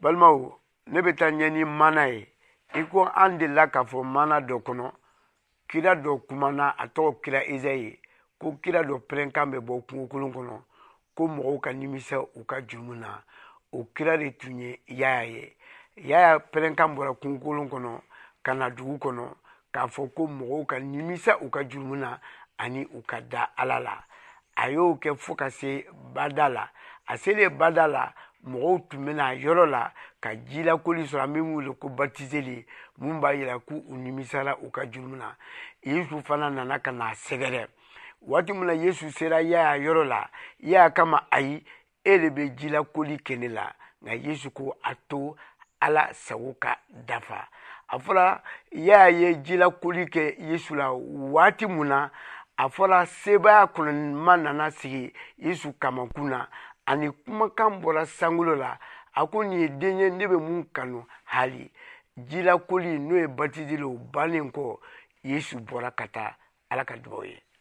balmaw ne bɛ taa ɲɛ ni mana ye i ko an delila k'a fɔ mana dɔ kɔnɔ kira dɔ kumana a tɔgɔ kira Izayi ko kira dɔ pɛrɛnkan bɛ bɔ kungokolon kɔnɔ ko mɔgɔw ka nimisa u ka jurumu na o kira de tun ye Yaya ye. Yaya pɛrɛnkan bɔra kungokolon kɔnɔ ka na dugu kɔnɔ k'a fɔ ko mɔgɔw ka nimisa u ka jurumu na ani u ka da Ala la. A y'o kɛ fo ka se bada la. A selen bada la mɔgɔw tun bɛna yɔrɔ la ka jilakoli sɔrɔ an bɛ min wele ko batiseli mun b'a yira k'u nimisala u ka jurumu na. Yesu fana nana ka n'a sɛgɛrɛ. Waati min na Yesu sera Yaya yɔrɔ la Yaya kama ayi e de bɛ jilakoli kɛ ne la nka Yesu ko a to Ala sago ka dafa. A fɔra Yaya ye jilakoli kɛ Yesu la waati mun na a fɔra sebaya kɔnɔma nana sigi Yesu kamakun na ani kumakan bɔra sankolo la a ko nin ye den ye ne bɛ mun kanu hali jilakoli n'o ye batiseli o bannen kɔ Yesu bɔra ka taa Ala ka dugawu ye.